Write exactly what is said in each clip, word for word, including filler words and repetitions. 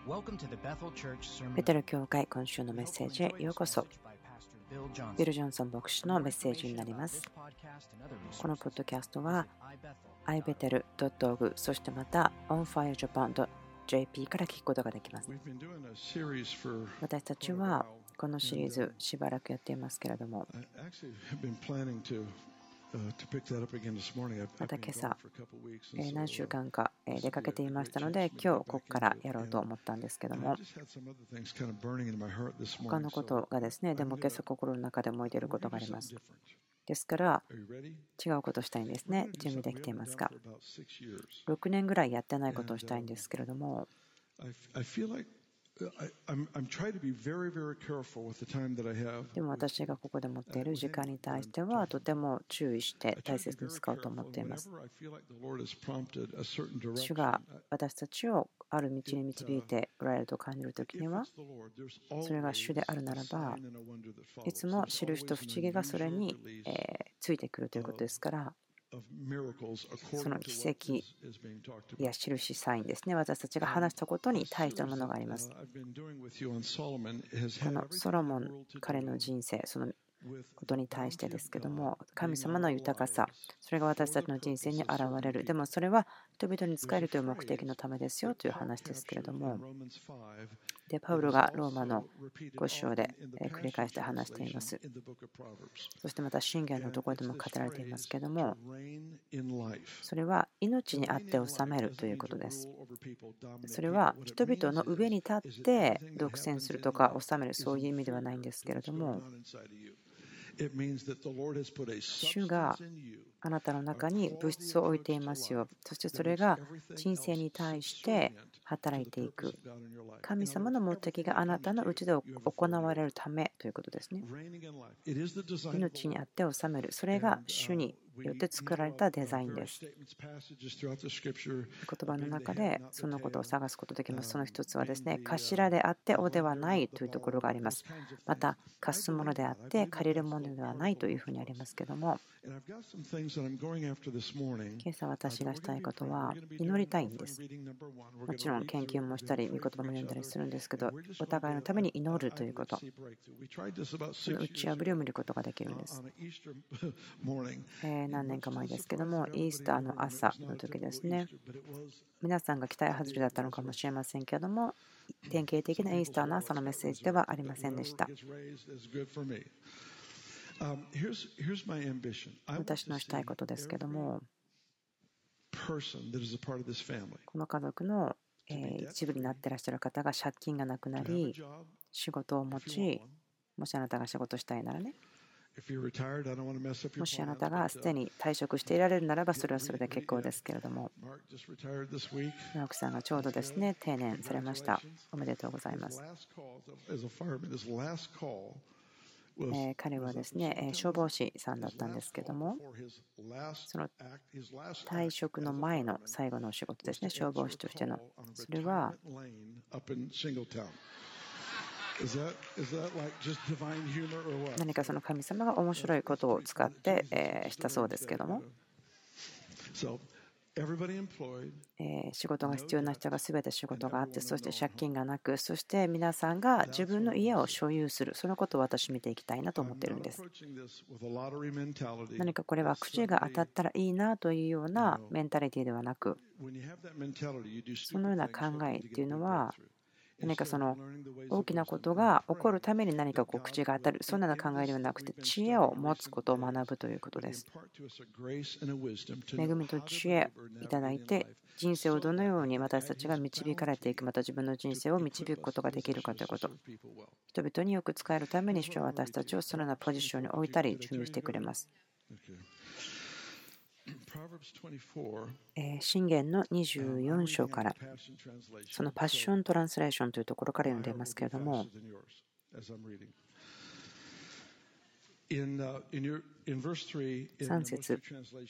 ベテル教会今週のメッセージへようこそ。ビル・ジョンソン牧師のメッセージになります。このポッドキャストは アイベテルドットオーアールジー そしてまた オンファイアジャパンドットジェーピー から聞くことができます。私たちはこのシリーズしばらくやっていますけれども、また今朝何週間か出かけていましたので、今日ここからやろうと思ったんですけども、他のことがですね、でも今朝心の中で燃えていることがあります。ですから違うことをしたいんですね。準備できていますか？ろくねんぐらいやってないことをしたいんですけれども、でも私がここで持っている時間に対してはとても注意して大切に使おうと思っています。主が私たちをある道に導いておられると感じるときには、それが主であるならば、いつも印と不思議がそれについてくるということですから、その奇跡や印サインですね、私たちが話したことに対してのものがあります。このソロモン、彼の人生、そのことに対してですけども、神様の豊かさ、それが私たちの人生に現れる。でもそれは人々に仕えるという目的のためですよという話ですけれども、でパウロがローマのご章で繰り返して話しています。そしてまた箴言のところでも語られていますけれども、それは命にあって治めるということです。それは人々の上に立って独占するとか治める、そういう意味ではないんですけれども、主があなたの中に物質を置いていますよ。そしてそれが人生に対して働いていく。神様の目的があなたのうちで行われるためということですね。命にあって治める。それが主によって作られたデザインです。言葉の中でそのことを探すことできます。その一つはですね、頭であって王ではないというところがあります。また、貸すものであって借りるものではないというふうにありますけども、今朝私がしたいことは祈りたいんです。もちろん研究もしたり、御言葉も読んだりするんですけど、お互いのために祈るということ、その打ち破りを見ることができるんです。えー、何年か前ですけども、イースターの朝の時ですね、皆さんが期待外れだったのかもしれませんけども、典型的なイースターの朝のメッセージではありませんでした。私のしたいことですけども、この家族の一部になっていらっしゃる方が借金がなくなり、仕事を持ち、もしあなたが仕事したいならね、もしあなたがすでに退職していられるならばそれはそれで結構ですけれども、マークさんがちょうどですね定年されました。おめでとうございます。えー、彼はですね消防士さんだったんですけども、その退職の前の最後のお仕事ですね、消防士としての、それは何かその神様が面白いことを使って、えー、したそうですけども、えー、仕事が必要な人が全て仕事があって、そして借金がなく、そして皆さんが自分の家を所有する、そのことを私見ていきたいなと思っているんです。何かこれは口が当たったらいいなというようなメンタリティではなく、そのような考えっていうのは何かその大きなことが起こるために何かこう口が当たる、そんなような考えではなくて、知恵を持つことを学ぶということです。恵みと知恵いただいて、人生をどのように私たちが導かれていく、また自分の人生を導くことができるかということ、人々によく使えるために主は私たちをそのようなポジションに置いたり準備してくれます。箴言のにじゅうよん章から、そのパッショントランスレーションというところから読んでいますけれども、さん節、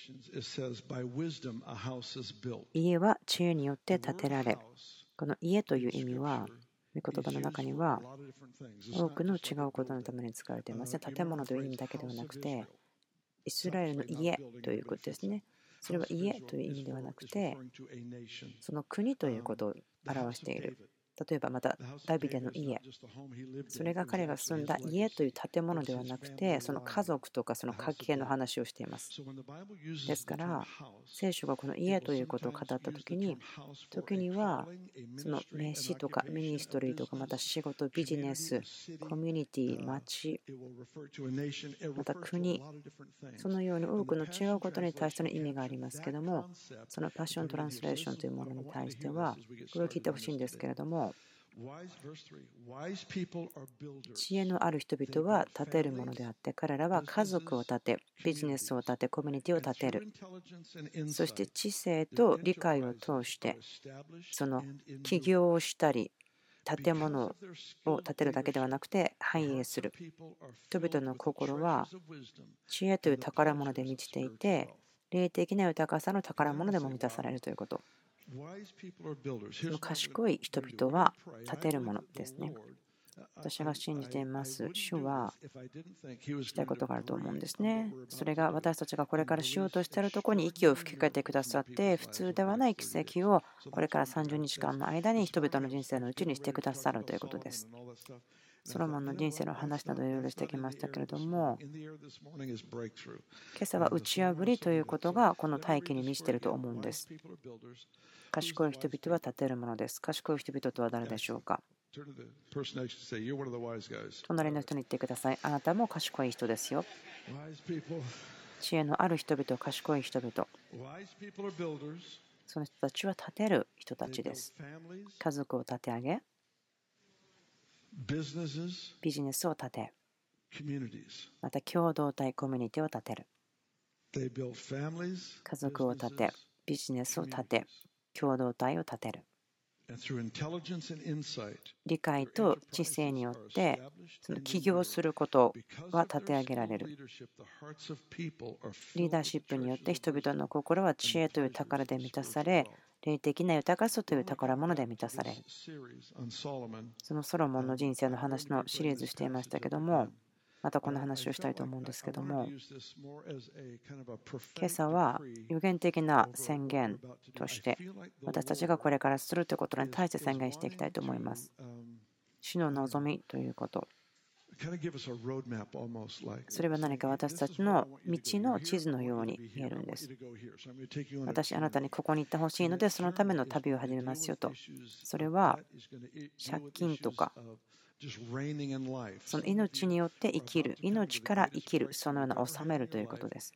家は知恵によって建てられ、この家という意味は、御言葉の中には多くの違うことのために使われていますね。建物という意味だけではなくて、イスラエルの家ということですね。それは家という意味ではなくて、その国ということを表している。 例えばまたダビデの家、それが彼が住んだ家という建物ではなくて、その家族とかその家系の話をしています。ですから、聖書がこの家ということを語ったときに、時にはその名詞とかミニストリーとか、また仕事、ビジネス、コミュニティ、町、また国、そのように多くの違うことに対しての意味がありますけども、そのパッショントランスレーションというものに対しては、これを聞いてほしいんですけれども、知恵のある人々は建てるものであって、彼らは家族を建て、ビジネスを建て、コミュニティを建てる。そして知性と理解を通して、その起業をしたり、建物を建てるだけではなくて繁栄する。人々の心は知恵という宝物で満ちていて、霊的な豊かさの宝物でも満たされるということ。その賢い人々は建てるものですね。私が信じています。主はしたいことがあると思うんですね。それが私たちがこれからしようとしているところに息を吹きかけてくださって、普通ではない奇跡をこれからさんじゅうにちかんの間に人々の人生のうちにしてくださるということです。ソロモンの人生の話などいろいろしてきましたけれども、今朝は打ち破りということがこの大気に満ちていると思うんです。賢い人々は建てるものです。賢い人々とは誰でしょうか。隣の人に言ってください。あなたも賢い人ですよ。知恵のある人々、賢い人々。その人たちは建てる人たちです。家族を立て上げ、ビジネスを立て、また共同体、コミュニティを立てる。家族を立て、ビジネスを立て、共同体を立てる。理解と知性によってその起業することは立て上げられる。リーダーシップによって人々の心は知恵という宝で満たされ、霊的な豊かさという宝物で満たされる。そのソロモンの人生の話のシリーズしていましたけども、またこの話をしたいと思うんですけども、今朝は予言的な宣言として私たちがこれからするということに対して宣言していきたいと思います。主の望みということ、それは何か私たちの道の地図のように見えるんです。私、あなたにここに行ってほしいので、そのための旅を始めますよと。それは借金とか、その命によって生きる、命から生きる、そのような治めるということです。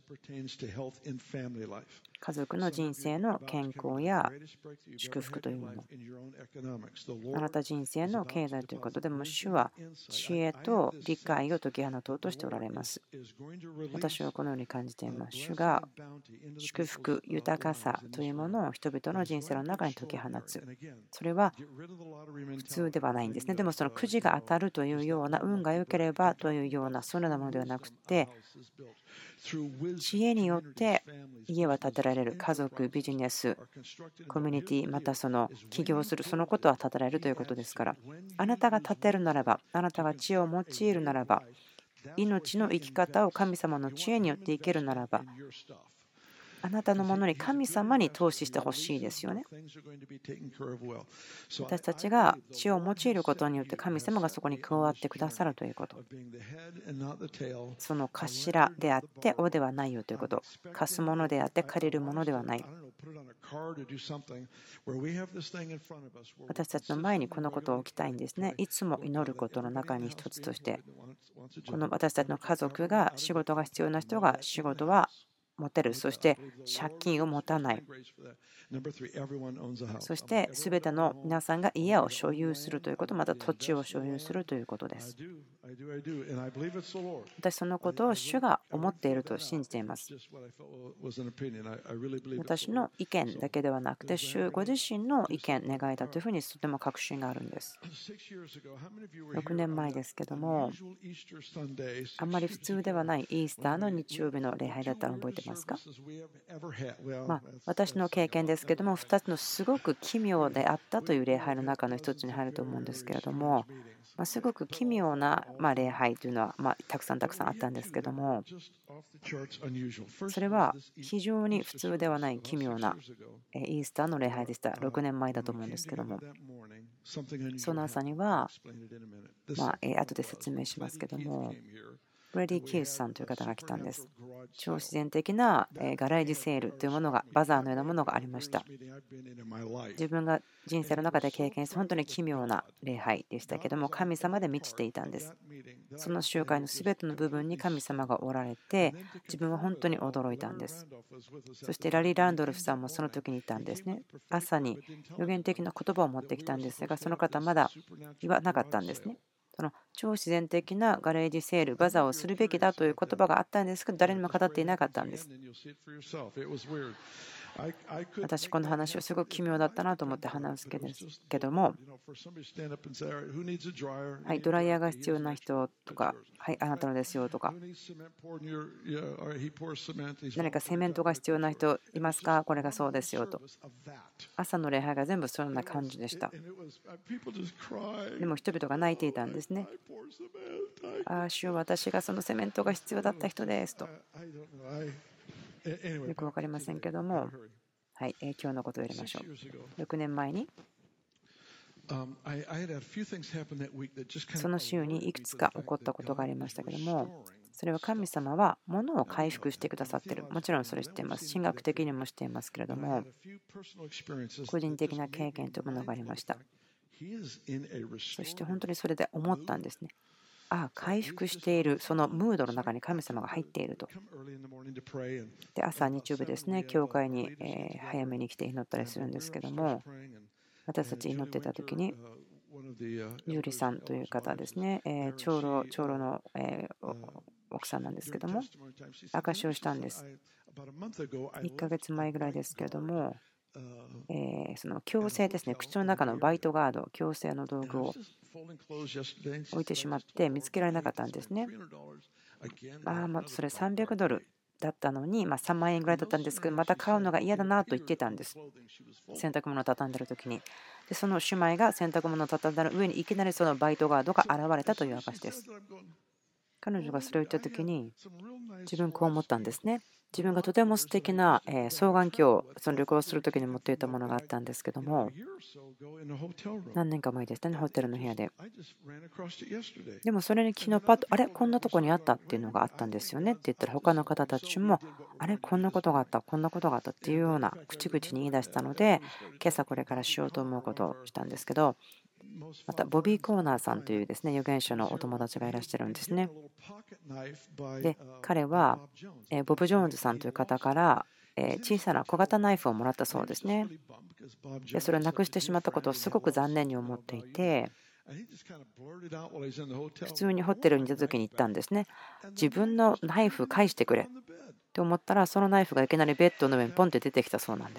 家族の人生の健康や祝福というもの、あなた人生の経済ということでも、主は知恵と理解を解き放とうとしておられます。私はこのように感じています。主が祝福、豊かさというものを人々の人生の中に解き放つ。それは普通ではないんですね。でもそのくじが当たるというような、運が良ければというような、そのようなものではなくて、知恵によって家は建てられる。家族、ビジネス、コミュニティ、またその起業する、そのことは建てられるということですから、あなたが建てるならば、あなたが知恵を用いるならば、命の生き方を神様の知恵によって生きるならば、あなたのものに神様に投資してほしいですよね。私たちが知恵を用いることによって神様がそこに加わってくださるということ。その頭であって尾ではないよということ。貸すものであって借りるものではない。私たちの前にこのことを置きたいんですね。いつも祈ることの中に一つとして、この私たちの家族が仕事が必要な人が仕事は持てる。そして借金を持たない。そして全ての皆さんが家を所有するということ、また土地を所有するということです。私そのことを主が思っていると信じています。私の意見だけではなくて、主ご自身の意見、願いだというふうにとても確信があるんです。ろくねんまえですけども、あんまり普通ではないイースターの日曜日の礼拝だったのを覚えてますか？まあ、私の経験ですけども、ふたつのすごく奇妙であったという礼拝の中の一つに入ると思うんですけれども、まあ、すごく奇妙なまあ礼拝というのはまあたくさんたくさんあったんですけども、それは非常に普通ではない奇妙なイースターの礼拝でした。ろくねんまえだと思うんですけども、 その朝には、まあ、えー後で説明しますけども、ブレディ・キースさんという方が来たんです。超自然的なえーガレージセールというものが、バザーのようなものがありました。自分が人生の中で経験した本当に奇妙な礼拝でしたけども、神様で満ちていたんです。その集会のすべての部分に神様がおられて、自分は本当に驚いたんです。そしてラリー・ランドルフさんもその時にいたんですね。朝に予言的な言葉を持ってきたんですが、その方はまだ言わなかったんですね。その超自然的なガレージセール、バザーをするべきだという言葉があったんですけど、誰にも語っていなかったんです。私、この話をすごく奇妙だったなと思って話すけども、はい、ドライヤーが必要な人とか、はい、あなたのですよとか、何かセメントが必要な人いますか、これがそうですよと。朝の礼拝が全部そんな感じでした。でも人々が泣いていたんですね。ああ、主よ、私がそのセメントが必要だった人ですと。よく分かりませんけども、はい、今日のことをやりましょう。ろくねんまえに、その週にいくつか起こったことがありましたけども、それは神様は物を回復してくださっている。もちろんそれ知っています。神学的にも知っていますけれども、個人的な経験というものがありました。そして本当にそれで思ったんですね。ああ、回復している、そのムードの中に神様が入っていると。で、朝、日曜日ですね、教会にえ早めに来て祈ったりするんですけども、私たち祈っていた時に、ユーリさんという方ですね、え長老、長老のえ奥さんなんですけども、証しをしたんです。いっかげつまえぐらいですけれども、えその矯正ですね、口の中のバイトガード、矯正の道具を置いてしまって見つけられなかったんですね。ああ、まあそれさんびゃくドルだったのに、まあ、さんまんえんぐらいだったんですけど、また買うのが嫌だなと言ってたんです。洗濯物を畳んでる時に。で、その姉妹が洗濯物を畳んだ上にいきなりそのバイトガードが現れたという証です。彼女がそれを言った時に、自分こう思ったんですね。自分がとても素敵なえ双眼鏡をその旅行する時に持っていたものがあったんですけども、何年か前でしたね、ホテルの部屋で。でもそれに昨日パッと、あれ、こんなとこにあったっていうのがあったんですよねって言ったら、他の方たちも、あれ、こんなことがあった、こんなことがあったっていうような口々に言い出したので、今朝これからしようと思うことをしたんですけど、またボビー・コーナーさんというですね預言者のお友達がいらっしゃるんですね。で、彼はえボブ・ジョーンズさんという方からえ小さな小型ナイフをもらったそうですね。で、それをなくしてしまったことをすごく残念に思っていて、普通にホテルにいた時に言ったんですね。自分のナイフ返してくれって思ったら、そのナイフがいきなりベッドの上にポンって出てきたそうなんです。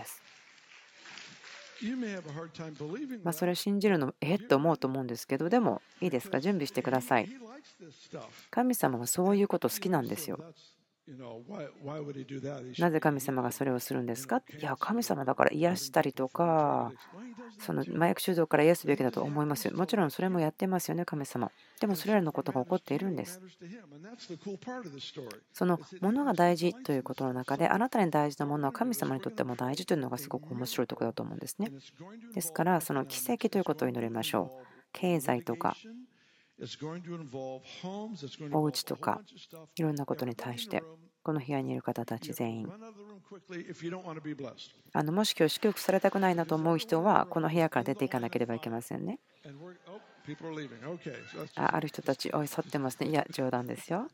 まあそれを信じるのえっと思うと思うんですけど、でもいいですか、準備してください。神様はそういうこと好きなんですよ。なぜ神様がそれをするんですか。いや、神様だから癒したりとか、その麻薬中毒から癒すべきだと思いますよ。もちろんそれもやってますよね、神様。でもそれらのことが起こっているんです。そのものが大事ということの中で、あなたに大事なものは神様にとっても大事というのがすごく面白いところだと思うんですね。ですから、その奇跡ということを祈りましょう。経済とか、お家とか、いろんなことに対して、この部屋にいる方たち全員、あのもし今日祝福されたくないなと思う人は、この部屋から出ていかなければいけませんね。あある人たち、おい、去ってますね。いや、冗談ですよ。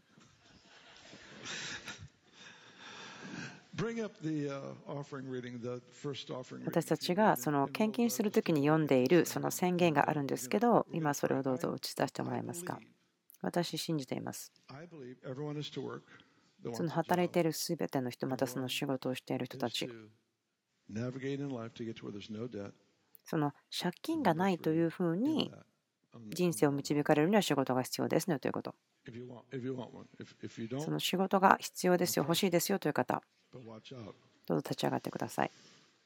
私たちがその献金するときに読んでいるその宣言があるんですけど、今それをどうぞ打ち出してもらえますか。私、信じています。その働いているすべての人、またその仕事をしている人たち、その借金がないというふうに人生を導かれるには仕事が必要ですねということ。その仕事が必要ですよ、欲しいですよという方、どうぞ立ち上がってください。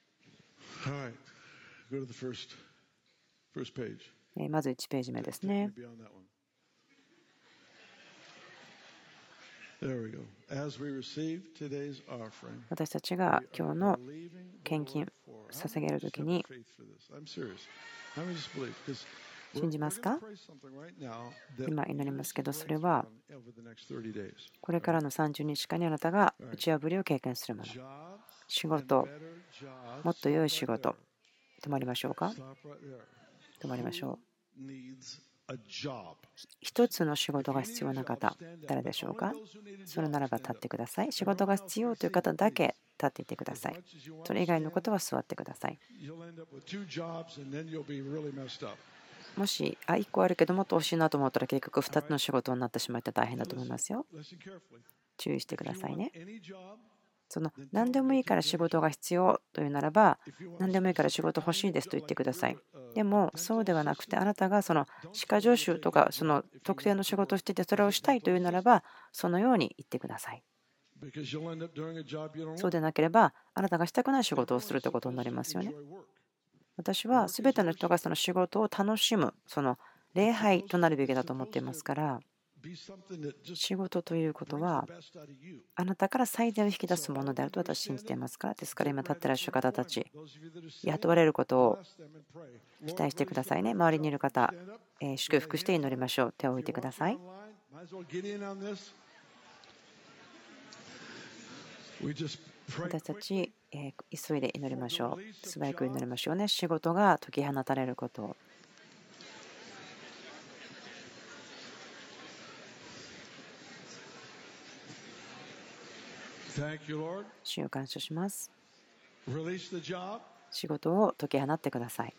まずいちページ目ですね。私たちが今日の献金捧げるときに信じますか？今祈りますけど、それはこれからのさんじゅうにちかんにあなたが打ち破りを経験するもの。仕事、もっと良い仕事。止まりましょうか？止まりましょう。一つの仕事が必要な方、誰でしょうか？それならば立ってください。仕事が必要という方だけ立っていてください。それ以外のことは座ってください。もし、あ、いっこあるけどもっと欲しいなと思ったら結局ふたつの仕事になってしまって大変だと思いますよ。注意してくださいね。その何でもいいから仕事が必要というならば、何でもいいから仕事欲しいですと言ってください。でもそうではなくて、あなたがその歯科助手とかその特定の仕事をしていてそれをしたいというならば、そのように言ってください。そうでなければ、あなたがしたくない仕事をするということになりますよね。私は全ての人がその仕事を楽しむ、その礼拝となるべきだと思っていますから、仕事ということはあなたから最善を引き出すものであると私は信じていますから。ですから今立っていらっしゃる方たち、雇われることを期待してくださいね。周りにいる方、えー祝福して祈りましょう。手を置いてください。私たち、えー急いで祈りましょう。素早く祈りましょうね。仕事が解き放たれることを。主を感謝します。仕事を解き放ってください。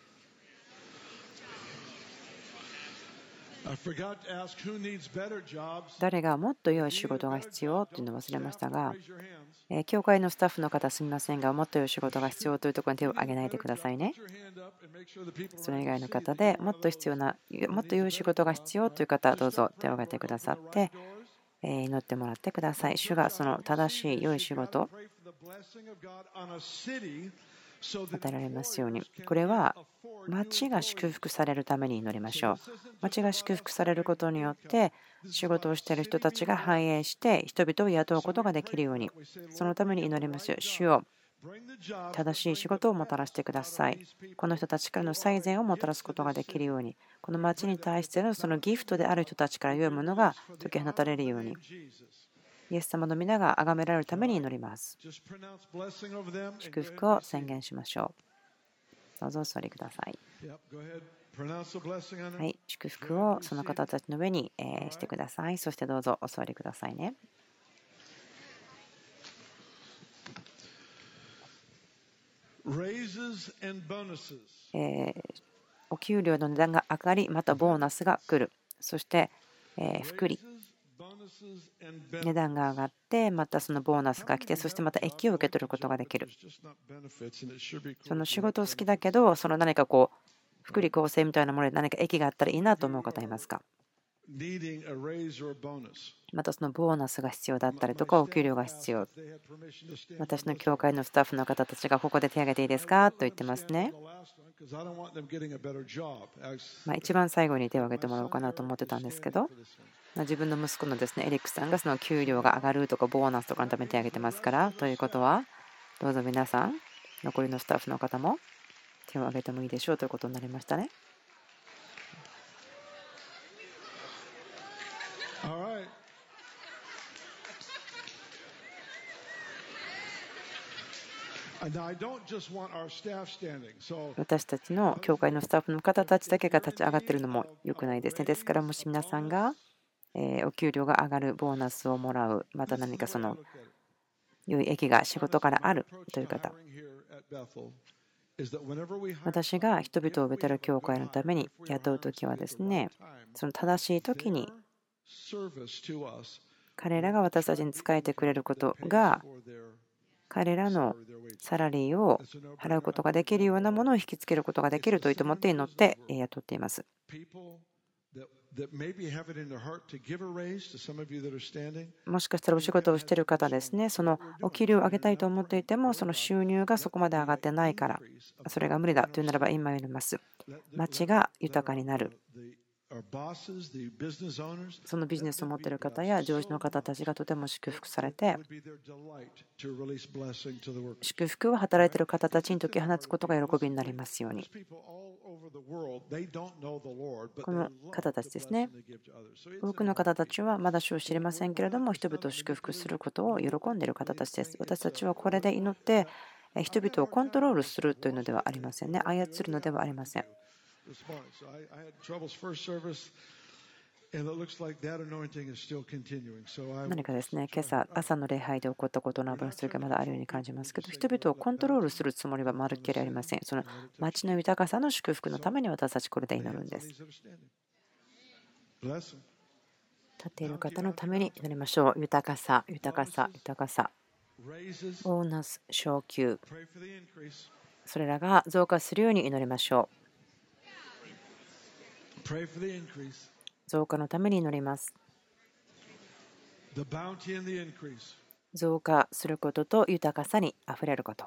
誰がもっと良い仕事が必要というのを忘れましたが、教会のスタッフの方すみませんが、もっと良い仕事が必要というところに手を挙げないでくださいね。それ以外の方でもっと必要な、もっと良い仕事が必要という方、どうぞ手を挙げてくださって、祈ってもらってください。主がその正しい良い仕事与えられますように。これは町が祝福されるために祈りましょう。町が祝福されることによって仕事をしている人たちが繁栄して人々を雇うことができるように、そのために祈りますよ。主よ、正しい仕事をもたらしてください。この人たちからの最善をもたらすことができるように、この町に対してのそのギフトである人たちから良いものが解き放たれるように、イエス様の皆が崇められるために祈ります。祝福を宣言しましょう。どうぞお座りください。はい、祝福をその方たちの上にしてください。そしてどうぞお座りくださいね。えー、お給料の値段が上がり、またボーナスが来る。そして、えー、福利。値段が上がって、またそのボーナスが来て、そしてまた益を受け取ることができる。その仕事好きだけど、その何かこう、福利厚生みたいなもので何か益があったらいいなと思う方いますか？またそのボーナスが必要だったりとか、お給料が必要。私の教会のスタッフの方たちがここで手を挙げていいですかと言ってますね。まあ一番最後に手を挙げてもらおうかなと思ってたんですけど、自分の息子のですねエリックさんがその給料が上がるとかボーナスとかのために手を挙げてますから、ということはどうぞ皆さん残りのスタッフの方も手を挙げてもいいでしょうということになりましたね。私たちの教会のスタッフの方たちだけが立ち上がっているのも良くないですね。ですからもし皆さんがお給料が上がる、ボーナスをもらう、また何かその良い益が仕事からあるという方、私が人々をベテル教会のために雇うときはですね、その正しいときに彼らが私たちに仕えてくれることが彼らのサラリーを払うことができるようなものを引きつけることができると思って祈って雇っています。もしかしたらお仕事をしている方ですね、そのお給料を上げたいと思っていても、その収入がそこまで上がってないから、それが無理だというならば今言います。町が豊かになる。 そのビジネスを持っている方や上司の方たちがとても祝福されて、祝福を働いている方たちに解き放つことが喜びになりますように。この方たちですね。多くの方たちはまだ主を知りませんけれども、人々を祝福することを喜んでいる方たちです。私たちはこれで祈って人々をコントロールするというのではありませんね。操るのではありません。何かですね、今朝、朝の礼拝で起こったことの油注ぎがまだあるように感じますけど、人々をコントロールするつもりはまるっきりありません。その町の豊かさの祝福のために私たちこれで祈るんです。立っている方のために祈りましょう。豊かさ、豊かさ、豊かさ。ボーナス、昇給。それらが増加するように祈りましょう。増加のために祈ります。増加することと豊かさにあふれること。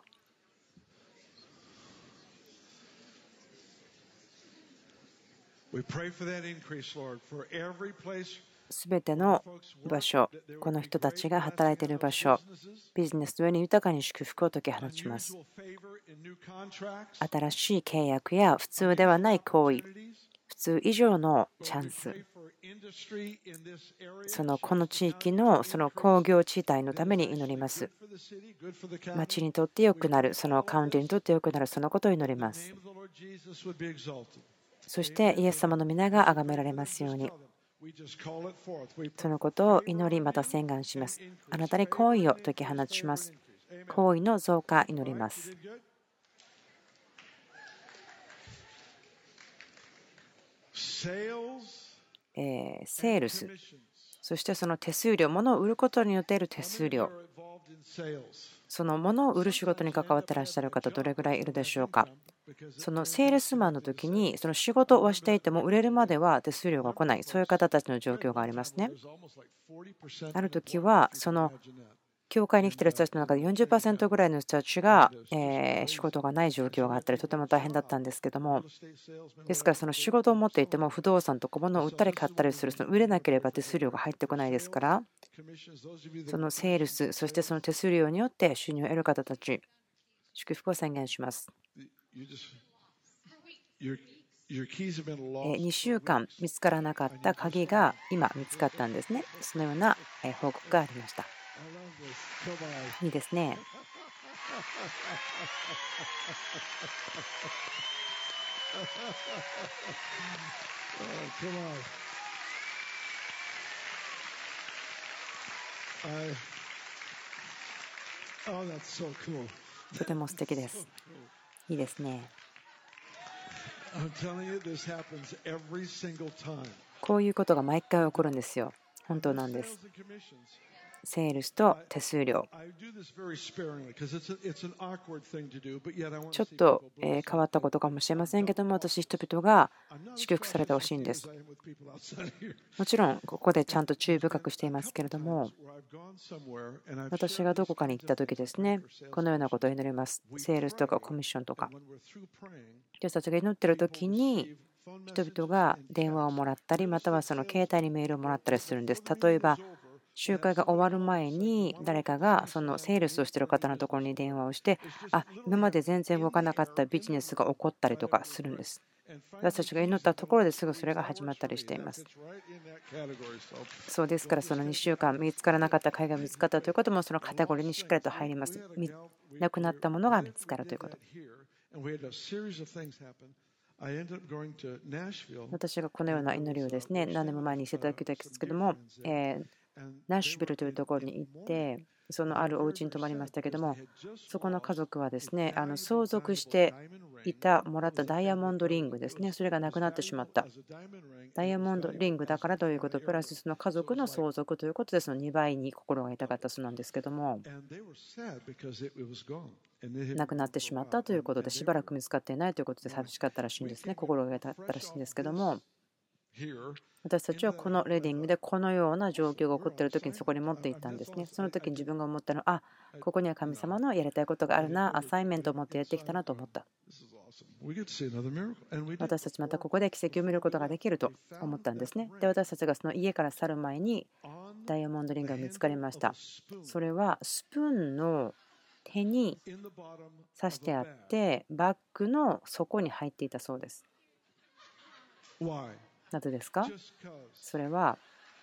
すべての場所、この人たちが働いている場所、ビジネスの上に豊かに祝福を解き放ちます。新しい契約や普通ではない行為、普通以上のチャンス、そのこの地域のその工業地帯のために祈ります。町にとって良くなる、そのカウンティにとって良くなる、そのことを祈ります。そしてイエス様の皆が崇められますように。そのことを祈り、また宣言します。あなたに行為を解き放ちます。行為の増加、祈ります。えー、セールス、そしてその手数料、物を売ることによっている手数料、その物を売る仕事に関わっていらっしゃる方、どれぐらいいるでしょうか。そのセールスマンの時に、その仕事をしていても売れるまでは手数料が来ない、そういう方たちの状況がありますね。ある時は、その教会に来ている人たちの中で よんじゅっパーセント ぐらいの人たちがえ仕事がない状況があったり、とても大変だったんですけども、ですからその仕事を持っていても不動産とか物を売ったり買ったりする、その売れなければ手数料が入ってこないですから、そのセールス、そしてその手数料によって収入を得る方たち、祝福を宣言します。にしゅうかん見つからなかった鍵が今見つかったんですね。そのような報告がありました。いいですね。とても素敵です。いいですね。こういうことが毎回起こるんですよ。本当なんです。セールスと手数料。ちょっと変わったことかもしれませんけども、私、人々が祝福されてほしいんです。もちろん、ここでちゃんと注意深くしていますけれども、私がどこかに行った時ですね、このようなことを祈ります。セールスとかコミッションとか。私たちが祈っている時に、人々が電話をもらったり、またはその携帯にメールをもらったりするんです。例えば、集会が終わる前に誰かがそのセールスをしている方のところに電話をして、あ、今まで全然動かなかったビジネスが起こったりとかするんです。私たちが祈ったところですぐそれが始まったりしています。そうですから、そのにしゅうかん見つからなかった貝が見つかったということもそのカテゴリーにしっかりと入ります。なくなったものが見つかるということ。私がこのような祈りをですね、何年も前にしていただきたいですけども、えーナッシュビルというところに行って、そのあるお家に泊まりましたけども、そこの家族はですね、あの相続していた、もらったダイヤモンドリングですね、それがなくなってしまった。ダイヤモンドリングだからということ、プラスその家族の相続ということで、そのにばいに心が痛かったそうなんですけども、なくなってしまったということで、しばらく見つかっていないということで寂しかったらしいんですね、心が痛かったらしいんですけども。私たちはこのレディングでこのような状況が起こっている時にそこに持っていったんですね。その時に自分が思ったのは、あ、ここには神様のやりたいことがあるな、アサインメントを持ってやってきたなと思った。 私たちまたここで奇跡を見ることができると思ったんですね。で、私たちがその家から去る前にダイヤモンドリングが見つかりました。それはスプーンの手に刺してあってバッグの底に入っていたそうです。なぜですか？それは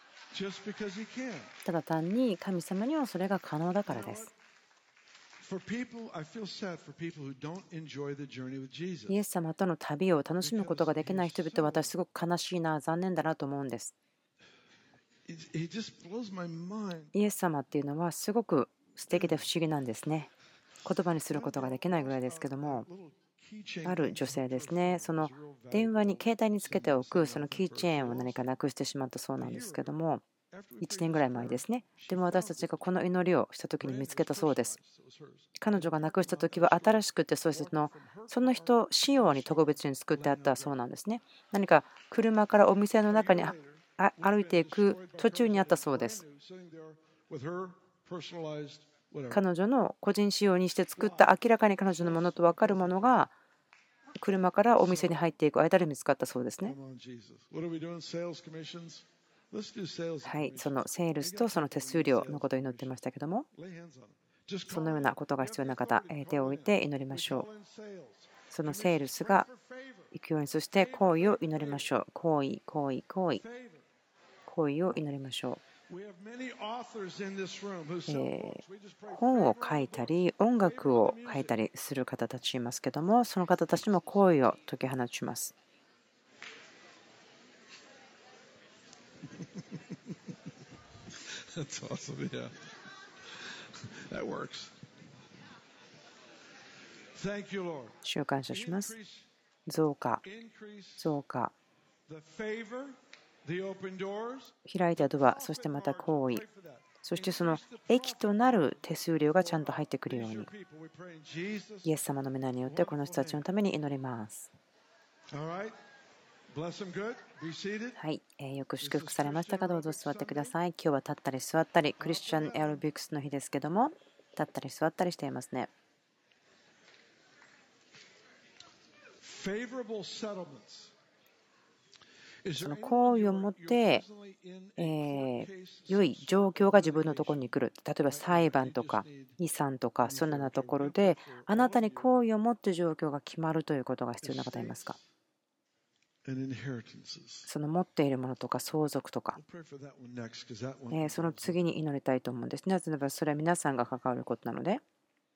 ただ単に神様にはそれが可能だからです。イエス様との旅を楽しむことができない人々は私すごく悲しいな、残念だなと思うんです。イエス様っていうのはすごく素敵で不思議なんですね。言葉にすることができないぐらいですけども、ある女性ですね、その電話に携帯につけておくそのキーチェーンを何かなくしてしまったそうなんですけども、いちねんぐらい前ですね。でも私たちがこの祈りをした時に見つけたそうです。彼女が亡くした時は新しくて、そしてそのその人仕様に特別に作ってあったそうなんですね。何か車からお店の中にあ歩いていく途中にあったそうです。彼女の個人仕様にして作った明らかに彼女のものと分かるものが車からお店に入っていく間で見つかったそうですね。はい、そのセールスとその手数料のことを祈ってましたけども、そのようなことが必要な方、手を置いて祈りましょう。そのセールスが行くように、そして行為を祈りましょう。行為、行為、行為、行為を祈りましょう。え本を書いたり音楽を書いたりする方たちいますけども、その方たちも行為を解き放ちます。主を感謝します。増加、増加、開いたドア、そしてまた行為、そしてその益となる手数料がちゃんと入ってくるように、イエス様の皆によってこの人たちのために祈ります。はい、えー、よく祝福されましたか？どうぞ座ってください。今日は立ったり座ったり、クリスチャンエアロビクスの日ですけども、立ったり座ったりしていますね。その行為をもって、えー、良い状況が自分のところに来る。例えば裁判とか遺産とかそんなところで、あなたに行為をもって状況が決まるということが必要な方いますか？その持っているものとか相続とか、えー、その次に祈りたいと思うんですね。なぜならそれは皆さんが関わることなので。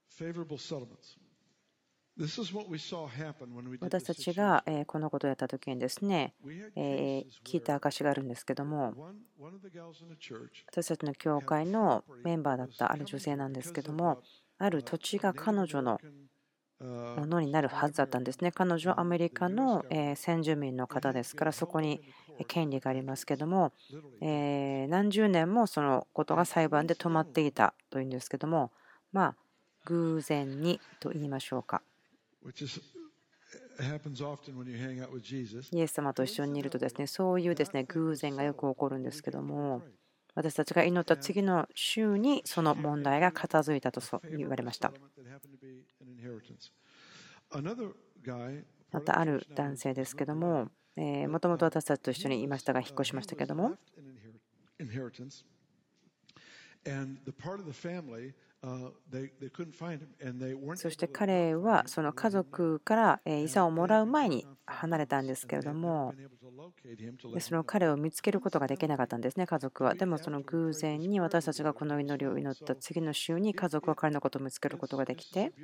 私たちがこのことをやった時にですね、聞いた証があるんですけども、私たちの教会のメンバーだったある女性なんですけども、ある土地が彼女のものになるはずだったんですね。彼女はアメリカの先住民の方ですから、そこに権利がありますけども、何十年もそのことが裁判で止まっていたというんですけども、まあ偶然にと言いましょうか。イエス様と一緒にいるとですね、そういうですね偶然がよく起こるんですけども、私たちが祈った次の週にその問題が片付いたと言われました。またある男性ですけども、もともと私たちと一緒にいましたが引っ越しましたけども、そして彼はその家族から遺産をもらう前に離れたんですけれども、その彼を見つけることができなかったんですね、家族は。でもその偶然に私たちがこの祈りを祈った次の週に家族は彼のことを見つけることができて、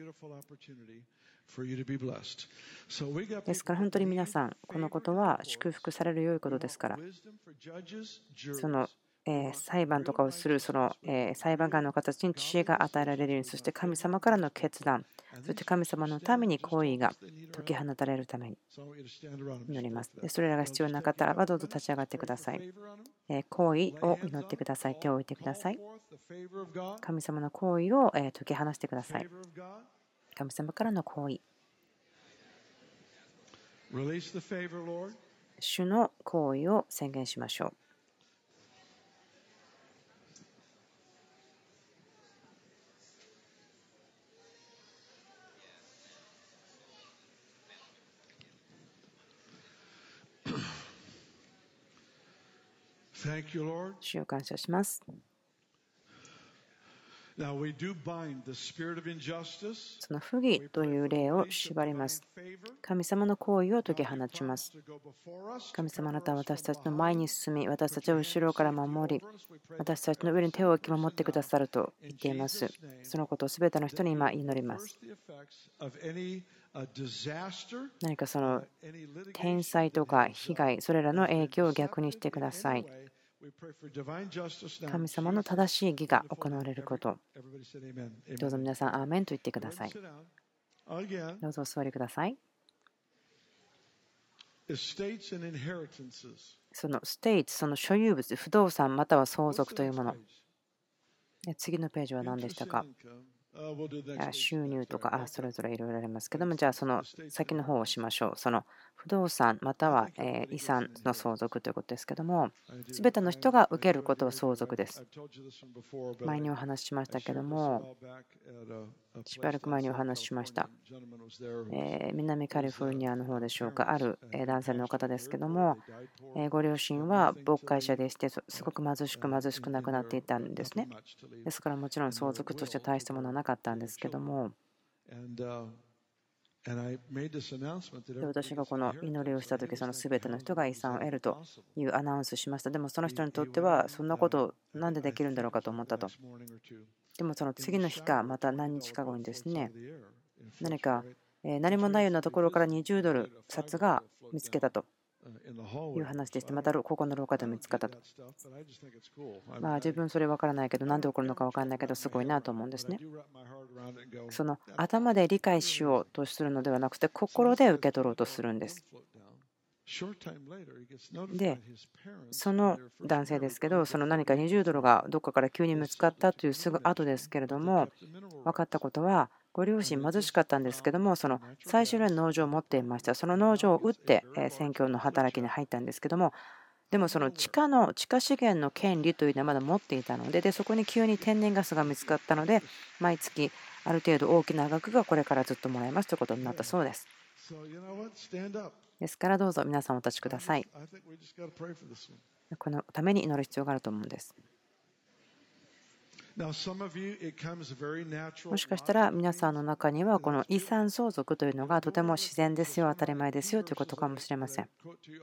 ですから本当に皆さん、このことは祝福される良いことですから、その裁判とかをするその裁判官の形に知恵が与えられるように、そして神様からの決断、そして神様のために行為が解き放たれるために祈ります。それらが必要な方はどうぞ立ち上がってください。行為を祈ってください。手を置いてください。神様の行為を解き放してください。神様からの行為。主の行為を宣言しましょう。 主を感謝します。その不義という霊を縛ります。神様の行為を解き放ちます。神様、あなたは私たちの前に進み、私たちを後ろから守り、私たちの上に手を置き守ってくださると言っています。そのことをすべての人に今祈ります。何かその天災とか被害、それらの影響を逆にしてください。神様の正しい義が行われること。どうぞ皆さん、アーメンと言ってください。どうぞお座りください。そのステイツ、その所有物、不動産または相続というもの。次のページは何でしたか？収入とか、あそれぞれいろいろありますけども、じゃあその先の方をしましょう。その不動産または遺産の相続ということですけども、すべての人が受けることは相続です。前にお話ししましたけども、しばらく前にお話ししました。南カリフォルニアの方でしょうか、ある男性の方ですけども、ご両親は牧会者でして、すごく貧しく貧しくなくなっていたんですね。ですからもちろん相続として大したものはなかったんですけども、私がこの祈りをしたとき、その全ての人が遺産を得るというアナウンスしました。でもその人にとっては、そんなことなんでできるんだろうかと思ったと。でもその次の日か、また何日か後にですね、何か何もないようなところからにじゅうドル札が見つけたという話でして、またここの廊下で見つかったと。まあ自分それ分からないけど、なんで起こるのか分からないけど、すごいなと思うんですね。その頭で理解しようとするのではなくて、心で受け取ろうとするんです。で、その男性ですけど、その何かにじゅうドルがどこかから急に見つかったというすぐ後ですけれども、分かったことは、ご両親貧しかったんですけども、その最初の農場を持っていました。その農場を売って宣教の働きに入ったんですけども、でもその地下の地下資源の権利というのはまだ持っていたので、でそこに急に天然ガスが見つかったので、毎月ある程度大きな額がこれからずっともらえますということになったそうです。ですからどうぞ皆さんお立ちください。このために祈る必要があると思うんです。もしかしたら皆さんの中にはこの遺産相続というのがとても自然ですよ、当たり前ですよということかもしれません。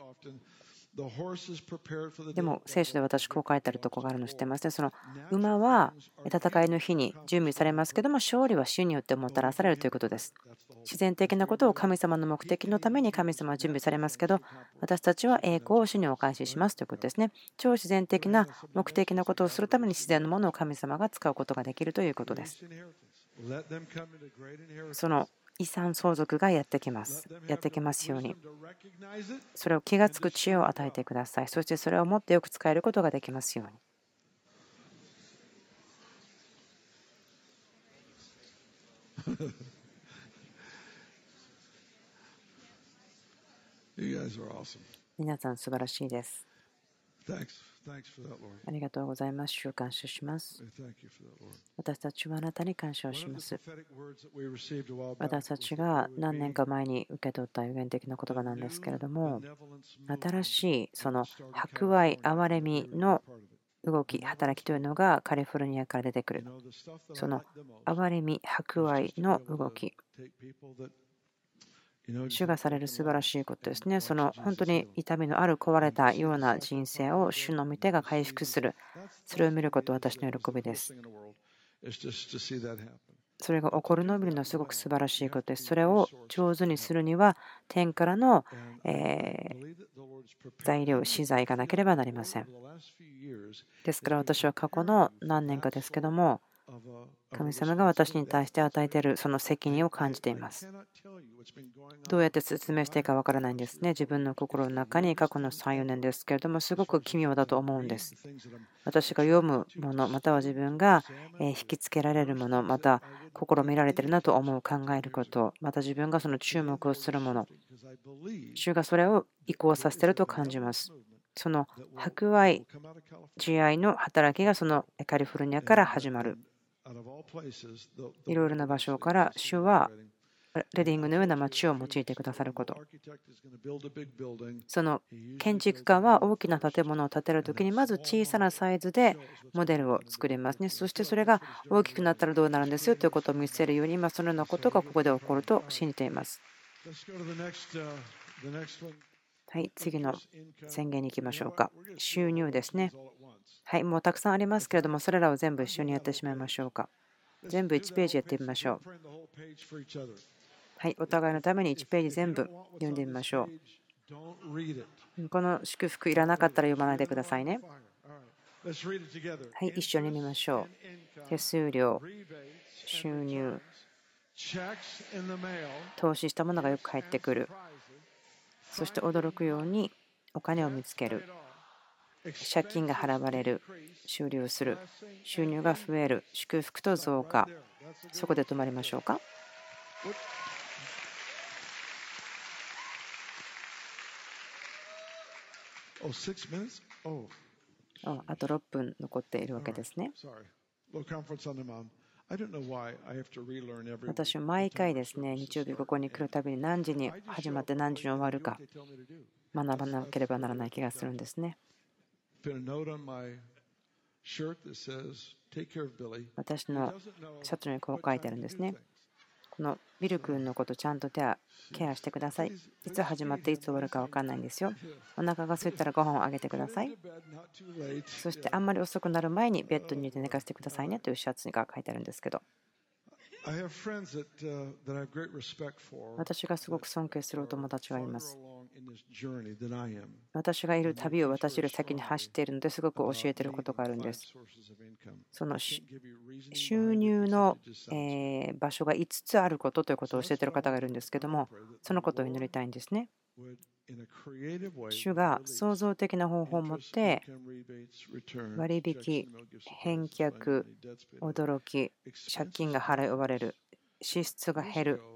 でも聖書で私こう書いてあるところがあるの知ってますね。その馬は戦いの日に準備されますけども、勝利は主によってもたらされるということです。自然的なことを神様の目的のために神様は準備されますけど、私たちは栄光を主にお返ししますということですね。超自然的な目的なことをするために自然のものを神様が使うことができるということです。その遺産相続がやってきます。やってきますように。それを気がつく知恵を与えてください。そしてそれをもってよく使えることができますように。皆さん素晴らしいです。ありがとうございます。主を感謝します。私たちはあなたに感謝をします。私たちが何年か前に受け取った予言的な言葉なんですけれども、新しいその博愛、憐れみの動き、働きというのがカリフォルニアから出てくる。その憐れみ、博愛の動き。主がされる素晴らしいことですね。その本当に痛みのある壊れたような人生を主の御手が回復する。それを見ることは私の喜びです。それが起こるのを見るのはすごく素晴らしいことです。それを上手にするには天からの、えー、材料、資材がなければなりません。ですから私は過去の何年かですけども、神様が私に対して与えているその責任を感じています。どうやって説明していいかわからないんですね。自分の心の中に過去のさん、よねんですけれども、すごく奇妙だと思うんです。私が読むもの、または自分が引きつけられるもの、また心見られているなと思う、考えること、また自分がその注目をするもの、主がそれを移行させていると感じます。その博愛、慈愛の働きがそのカリフォルニアから始まる。いろいろな場所から主はレディングのような街を用いてくださること。その建築家は大きな建物を建てるときにまず小さなサイズでモデルを作りますね。そしてそれが大きくなったらどうなるんですよということを見せるように、今そのようなことがここで起こると信じています。はい、次の宣言に行きましょうか。収入ですね。はい、もうたくさんありますけれども、それらを全部一緒にやってしまいましょうか。全部いちページやってみましょう。はい、お互いのためにいちページ全部読んでみましょう。この祝福いらなかったら読まないでくださいね。はい、一緒に見ましょう。手数料、収入、投資したものがよく返ってくる。そして驚くようにお金を見つける。借金が払われる。終了する。収入が増える。祝福と増加。そこで止まりましょうか。あとろっぷん残っているわけですね。私は毎回ですね、日曜日ここに来るたびに何時に始まって何時に終わるか学ばなければならない気がするんですね。私のシャツにこう書いてあるんですね。このビル君のことちゃんとケアしてください。いつ始まっていつ終わるか分かんないんですよ。お腹が空いたらご飯をあげてください。そしてあんまり遅くなる前にベッドに入れて寝かせてくださいねというシャツが書いてあるんですけど、私がすごく尊敬するお友達がいます。私がいる旅を私より先に走っているのですごく教えていることがあるんです。その収入の場所がいつつあることということを教えている方がいるんですけども、そのことを祈りたいんですね。主が創造的な方法を持って割引、返却、驚き、借金が払い終われる、支出が減る、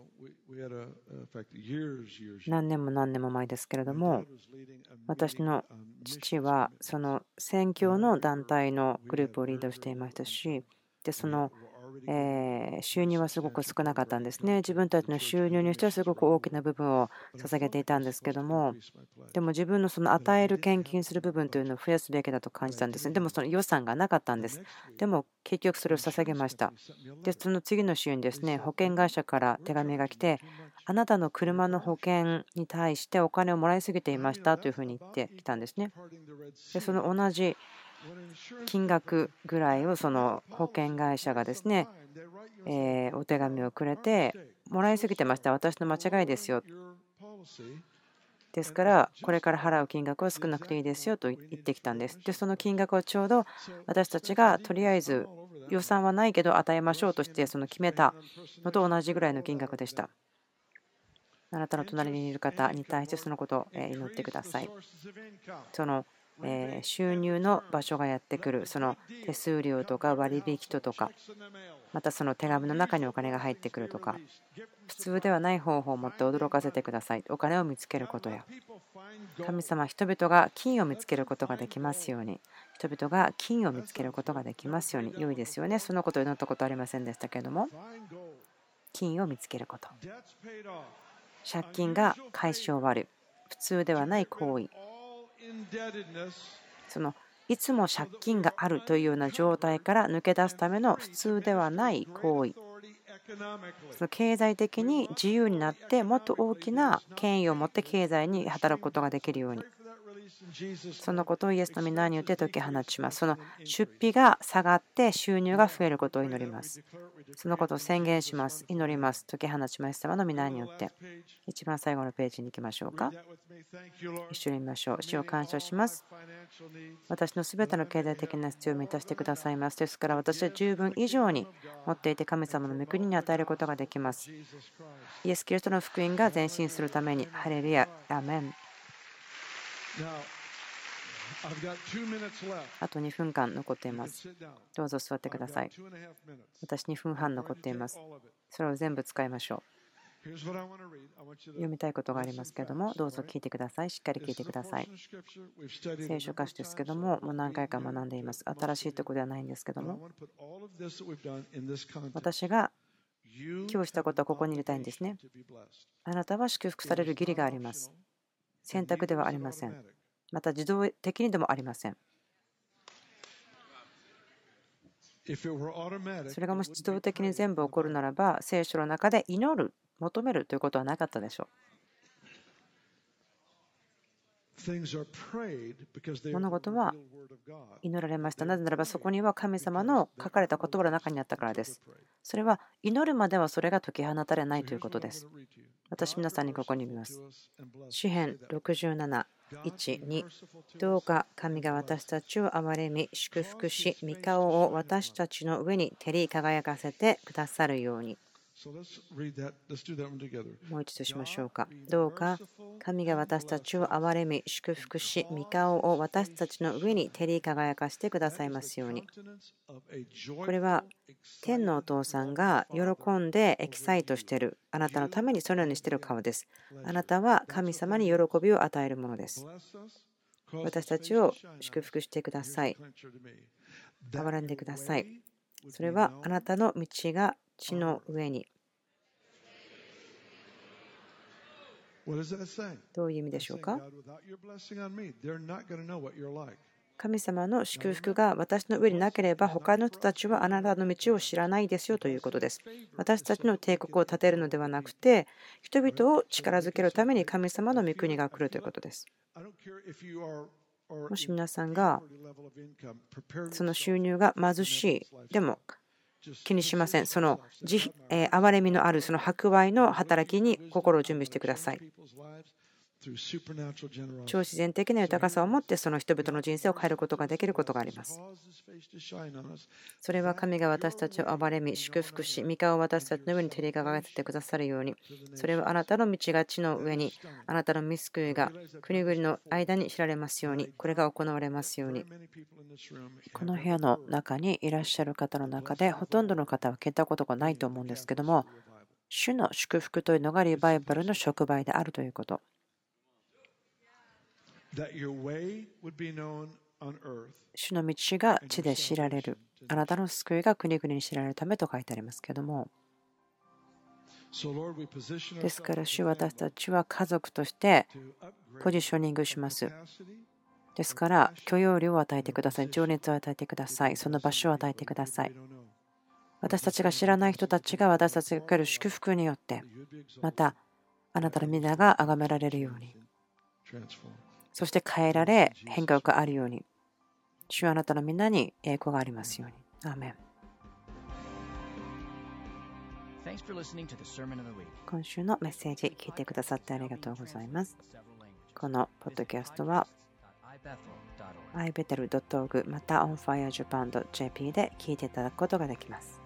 何年も何年も前ですけれども、私の父はその宣教の団体のグループをリードしていましたし、でその収入はすごく少なかったんですね。自分たちの収入にしてはすごく大きな部分を捧げていたんですけども、でも自分のその与える献金する部分というのを増やすべきだと感じたんですね。でもその予算がなかったんです。でも結局それを捧げました。で、その次の週にですね、保険会社から手紙が来て、あなたの車の保険に対してお金をもらいすぎていましたというふうに言ってきたんですね。で、その同じ金額ぐらいをその保険会社がですね、えー、お手紙をくれて、もらいすぎてました、私の間違いですよ。ですから、これから払う金額は少なくていいですよと言ってきたんです。で、その金額をちょうど私たちがとりあえず予算はないけど与えましょうとしてその決めたのと同じぐらいの金額でした。あなたの隣にいる方に対してそのことを祈ってください。その収入の場所がやってくる、その手数料とか割引とか、またその手紙の中にお金が入ってくるとか、普通ではない方法を持って驚かせてください。お金を見つけることや、神様、人々が金を見つけることができますように、人々が金を見つけることができますように、良いですよね。そのことを祈ったことありませんでしたけれども、金を見つけること、借金が解消終わる、普通ではない行為、そのいつも借金があるというような状態から抜け出すための普通ではない行為、その経済的に自由になってもっと大きな権威を持って経済に働くことができるように、そのことをイエスの皆によって解き放ちます。その出費が下がって収入が増えることを祈ります。そのことを宣言します。祈ります。解き放ちます。様の皆によって。一番最後のページに行きましょうか。一緒に見ましょう。主を感謝します。私のすべての経済的な必要を満たしてくださいます。ですから私は十分以上に持っていて神様の御国に与えることができます。イエス・キリストの福音が前進するために。ハレルヤ。アーメン。あとにふんかん残っています。どうぞ座ってください。私にふんはん残っています。それを全部使いましょう。読みたいことがありますけれども、どうぞ聞いてください。しっかり聞いてください。聖書歌詞ですけども、もう何回か学んでいます。新しいところではないんですけども、私が今日したことはここに入れたいんですね。あなたは祝福される義理があります。選択ではありません。また自動的にでもありません。それがもし自動的に全部起こるならば、聖書の中で祈る、求めるということはなかったでしょう。物事は祈られました。なぜならばそこには神様の書かれた言葉の中にあったからです。それは祈るまではそれが解き放たれないということです。私、皆さんにここに見ます。詩編ろくじゅうなな、いち、に。どうか神が私たちを憐れみ、祝福し、御顔を私たちの上に照り輝かせてくださるように。もう一度しましょうか。どうか神が私たちを憐れみ、祝福し、御顔を私たちの上に照り輝かせてくださいますように。これは天のお父さんが喜んでエキサイトしている、あなたのためにそのようにしている顔です。あなたは神様に喜びを与えるものです。私たちを祝福してください。憐れんでください。それはあなたの道が地の上に。どういう意味でしょうか。神様の祝福が私の上になければ他の人たちはあなたの道を知らないですよということです。私たちの帝国を建てるのではなくて、人々を力づけるために神様の御国が来るということです。もし皆さんがその収入が貧しいでも気にしません。その慈えー憐れみのあるその博愛の働きに心を準備してください。超自然的な豊かさを持ってその人々の人生を変えることができることがあります。それは神が私たちを憐れみ、祝福し、御顔を私たちの上に照り輝かせてくださるように。それはあなたの道が地の上に、あなたの御救いが国々の間に知られますように。これが行われますように。この部屋の中にいらっしゃる方の中で、ほとんどの方は聞いたことがないと思うんですけども、主の祝福というのがリバイバルの触媒であるということ。主の道が地で知られる。あなたの救いが国々に知られるためと書いてありますけども。ですから、主は私たちは家族としてポジショニングします。ですから、許容量を与えてください。情熱を与えてください。その場所を与えてください。私たちが知らない人たちが私たちが受ける祝福によって、またあなたの皆が崇められるように。そして変えられ、変化があるように。主はあなたの皆に栄光がありますように。アーメン。今週のメッセージ聞いてくださってありがとうございます。このポッドキャストは アイベテルドットオーアールジー また オンファイアジャパンドットジェーピー で聞いていただくことができます。